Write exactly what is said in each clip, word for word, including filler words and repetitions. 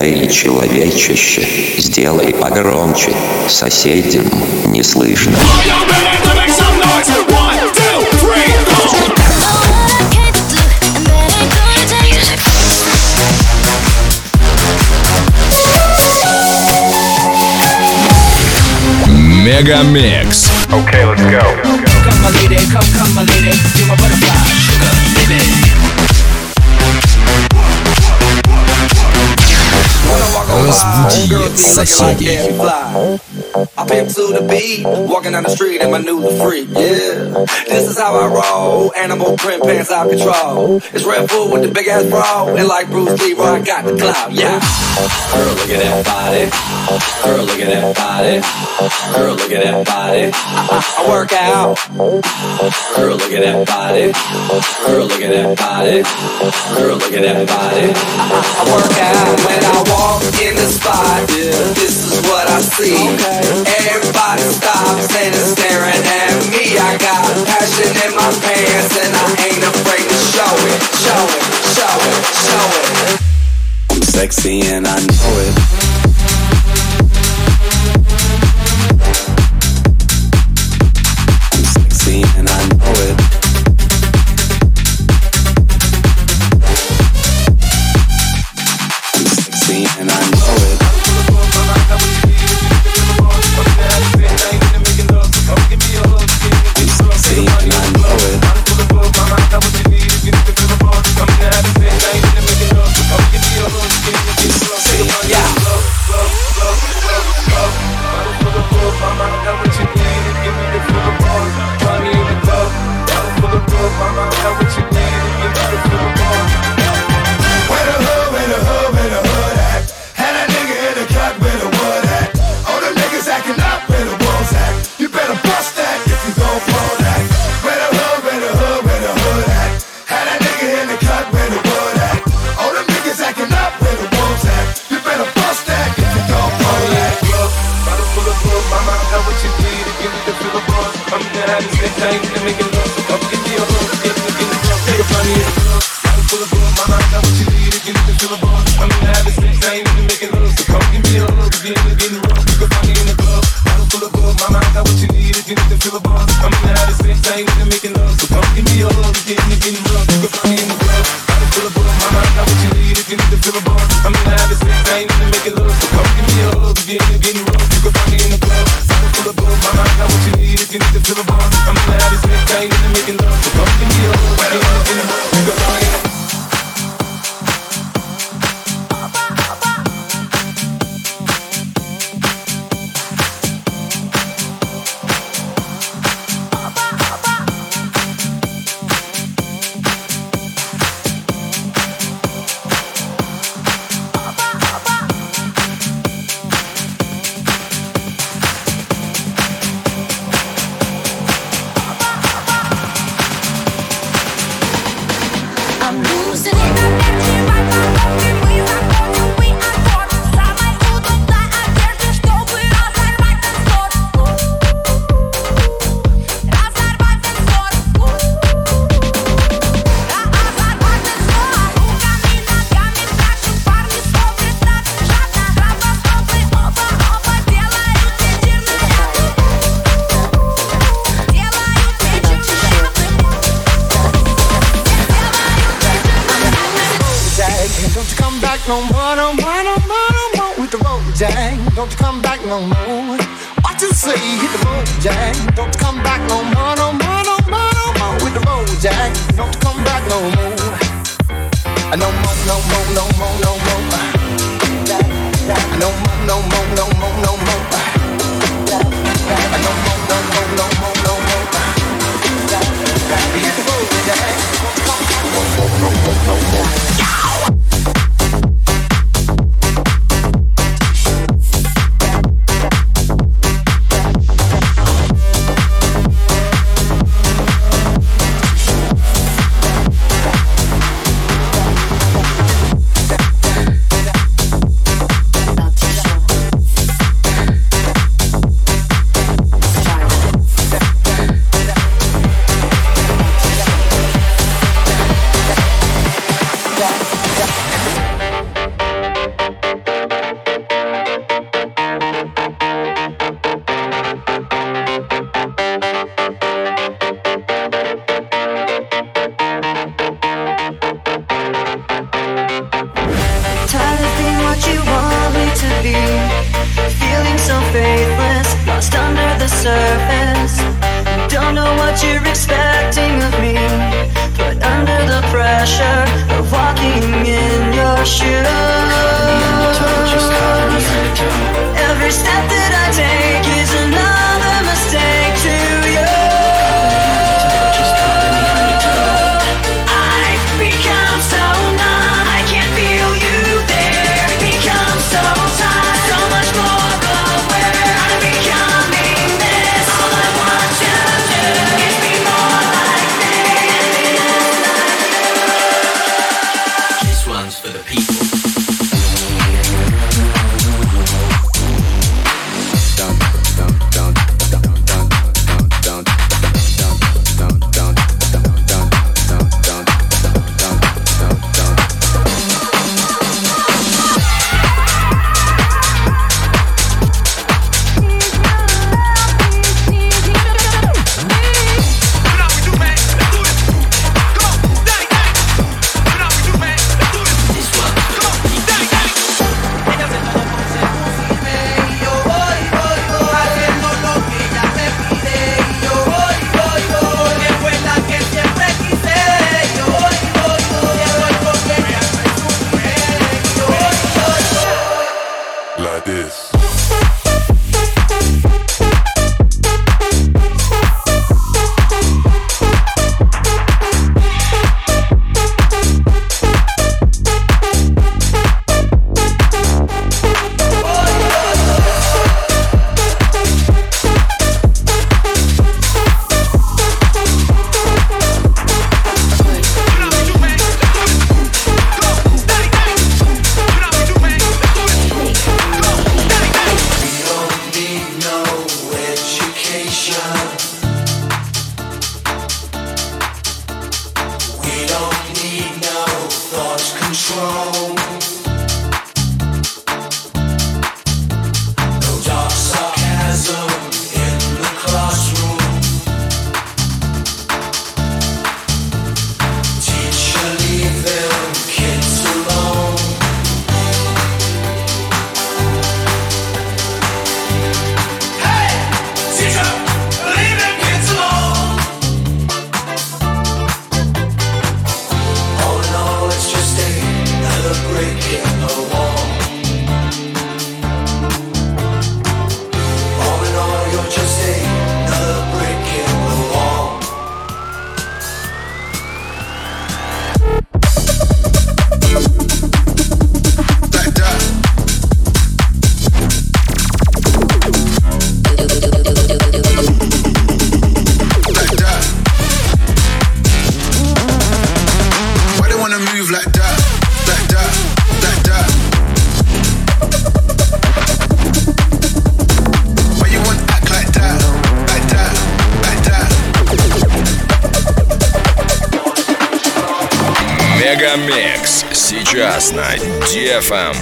Эй, человечище, сделай погромче, соседям не слышно. Мегамикс. Okay, let's go. Come my lady, come, come my lady, you're my butterfly, sugar, baby. Разбуди соседей. I pimp to the beat, walking down the street in my new freak, yeah. This is how I roll, animal print pants out control. It's Red Bull with the big ass bra, and like Bruce Lee, I got the clout, yeah. Girl, look at that body. Girl, look at that body. Girl, look at that body. I, I, I work out. Girl, look at that body. Girl, look at that body. Girl, look at that body. I, I, I work out when I walk in the spot. Yeah, this is what I see. Okay. Everybody stops and is staring at me. I got passion in my pants and I ain't afraid to show it, show it, show it, show it. I'm sexy and I know it. I'm sexy and I know it. I'm sexy and I know it. No more, no more, no more, no more with the road, Jack. Don't you come back no more. What you say? Hit the road, Jack. Don't you come back no more, no more, no more, no more with the road, Jack. Don't you come back no more. No more, no more, no more, no more. No more, no more, no more, no more. No more, no more, no more, no more. Hit the road, Jack. No more, no more, no more. what you want me to be. Feeling so faithless, lost under the surface. Don't know what you're expecting of me, but under the pressure of walking in your shoes, every step that I take is another mistake to you. I've become so numb, I can't feel you there. Become so tired, so much more aware. I'm becoming this. All I want you to do is be more like me. This one's for the people. Мегамикс сейчас на ди эф эм.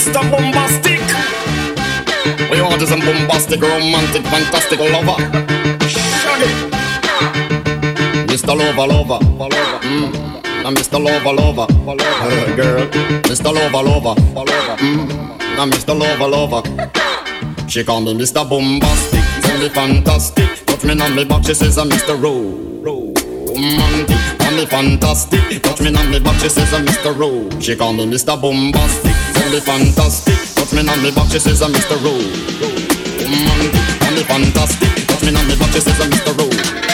Mister Bombastic. We want is a bombastic, romantic, fantastic lover. Shaggy. Mister Lover, lover, mm. Now Mister Lover, lover, uh, girl. Mister Lover, lover, mm. Now Mister Lover, lover. She call me Mister Bombastic, tell me fantastic. Touch me on me back, she says I'm Mister Romantic. Call me fantastic, touch me on me back, she says I'm Mister Ro. She call me Mister Bombastic, tell me fantastic. Touch me on me back, she says I'm Mister Romantic. Call me fantastic, touch me on me back, she says I'm Mister Ro.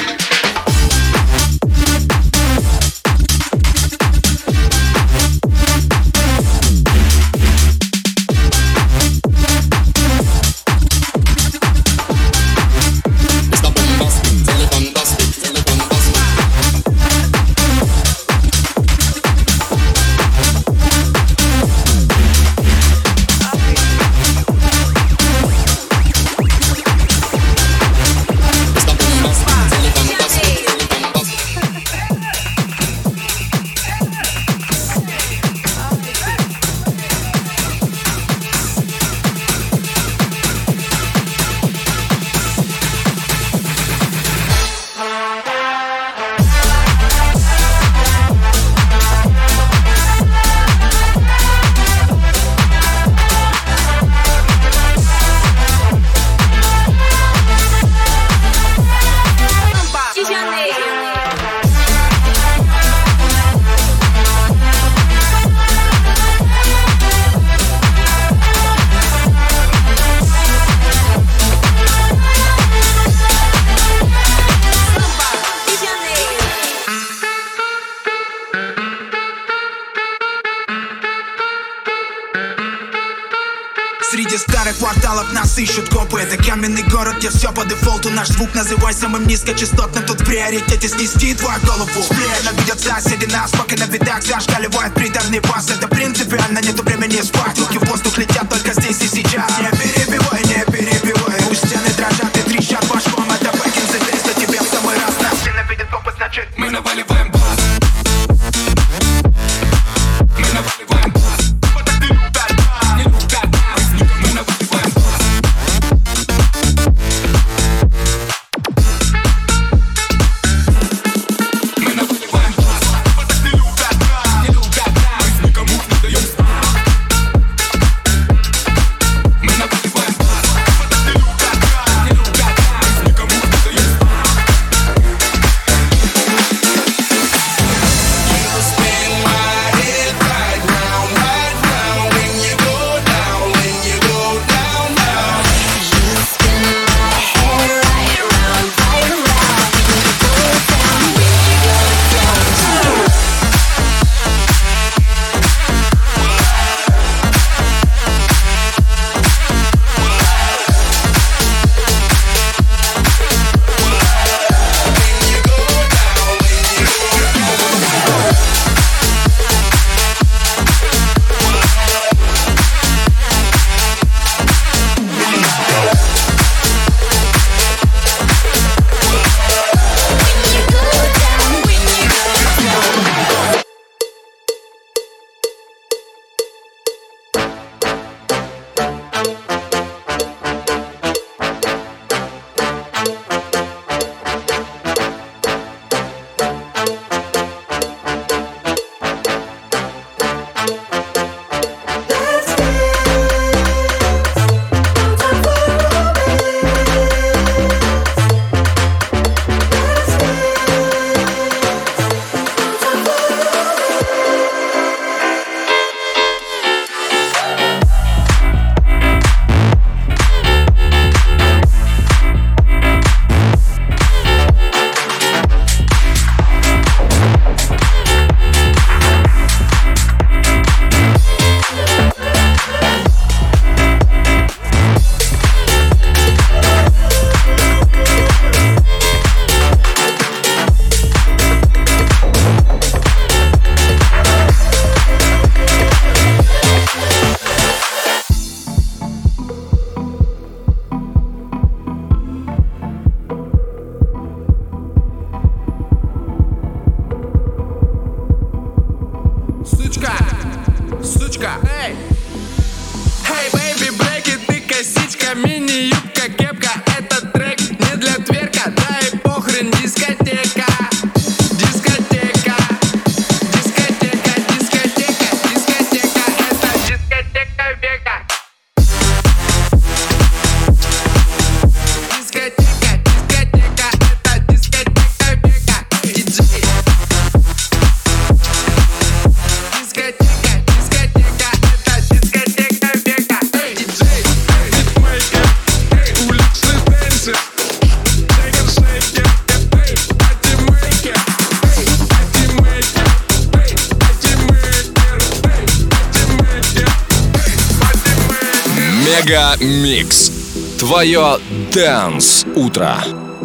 Среди старых кварталов нас ищут копы. Это каменный город, где все по дефолту. Наш звук называй самым низкочастотным. Тут в приоритете снести твою голову. Ненавидят соседи нас, пока на видах зашкаливает приторный бас. Это принципиально, нету времени спать. Руки в воздух летят только здесь и сейчас. Не перебивай, не перебивай. Пусть стены дрожат и трещат башком. Это бэкинсы, триста тебе в самый раз. Нас ненавидят копы, значит мы наваливаем бас. Мы наваливаем бас. Мы наваливаем бас. Мега Микс. Твое Dance утро.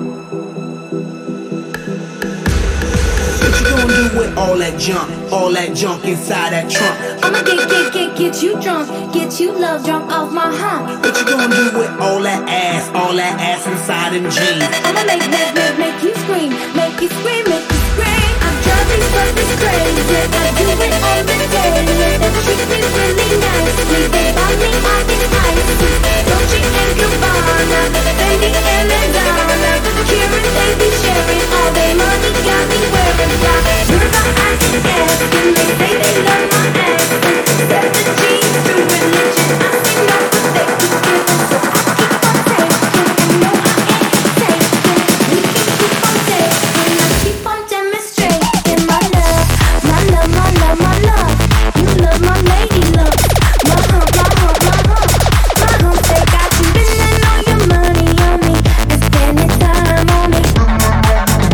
What you gonna do with all that junk, all that junk inside that trunk? I'ma get, get, get, get you drunk, get you love drunk off my hump. What you gonna do with all that ass, all that ass inside them jeans? I'ma make, make, make, make you scream, make you scream, make you scream. I'm driving fucking crazy, I do it every day. They treat me really nicely, they buy me all this icy. Dolce and Gabbana, Fendi and Madonna, Kieran, they be sharing all their money, got me wearing black. River, I can ask them, they say they love my ass. Set the G's to religion, I sing off what they keep giving, so I keep on taking, and no I ain't taking. We can keep on taking, I keep on demonstrating my love, my love, my love, my love. You love my lady love, my hump, my hump, my hump, my hump. They got you spending all your money on me and spending time on me. My hump, my hump,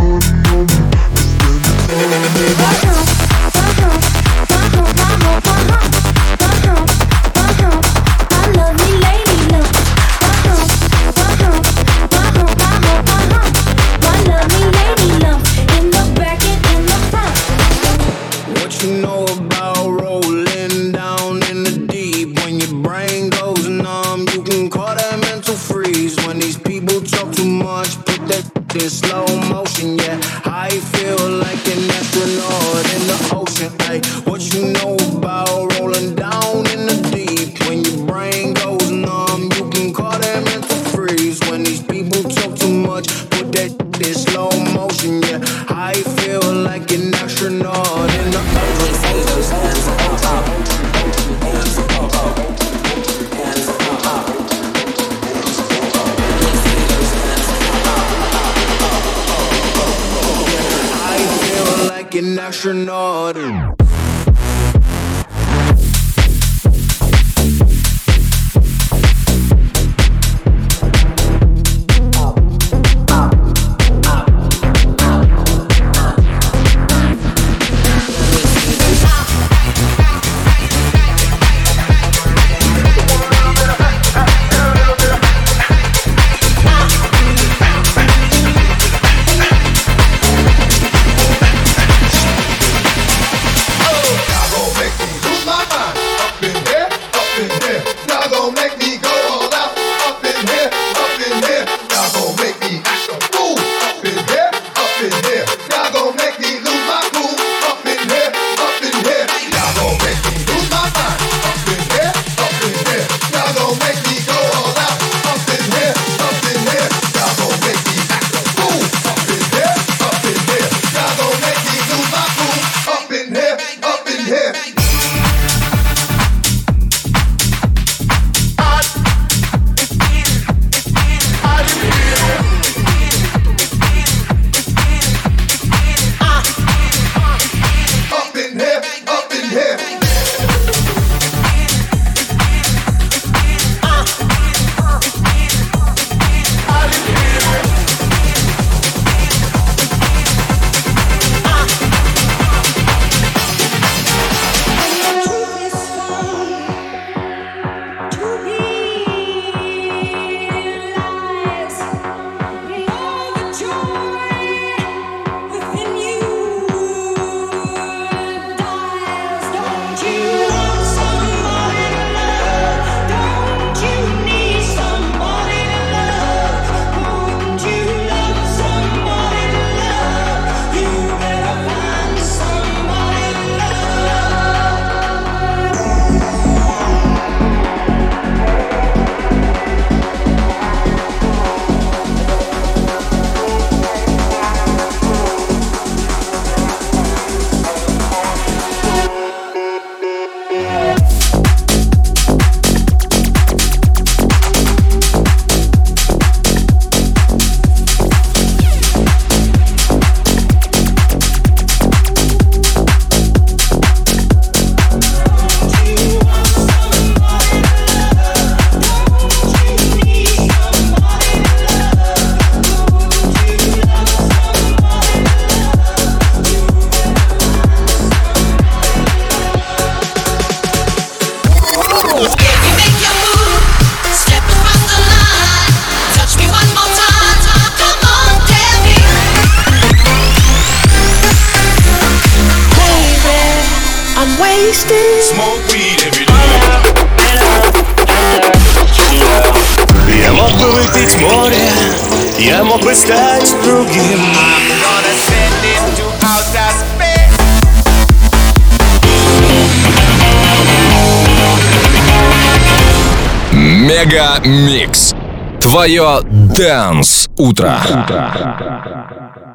my hump, my hump, my hump, my hump, my hump. My lovely lady love, my hump, my hump, my hump, my hump, my hump. My lovely lady love, in the back and in the front. What you know about rolling down in the deep? When your brain goes numb, you can call that mental freeze. When these people talk too much, put that in slow motion. Yeah, I feel like an astronaut in the ocean. Ay, what you know about rolling down in the deep? When your brain goes numb, you can call that mental freeze. When these people talk too much, put that in slow motion. Yeah, I feel like an astronaut in the ocean. I feel like an astronaut. мог бы стать другим. I'm gonna send him to outer space. Мега Микс. Твое Dance утро.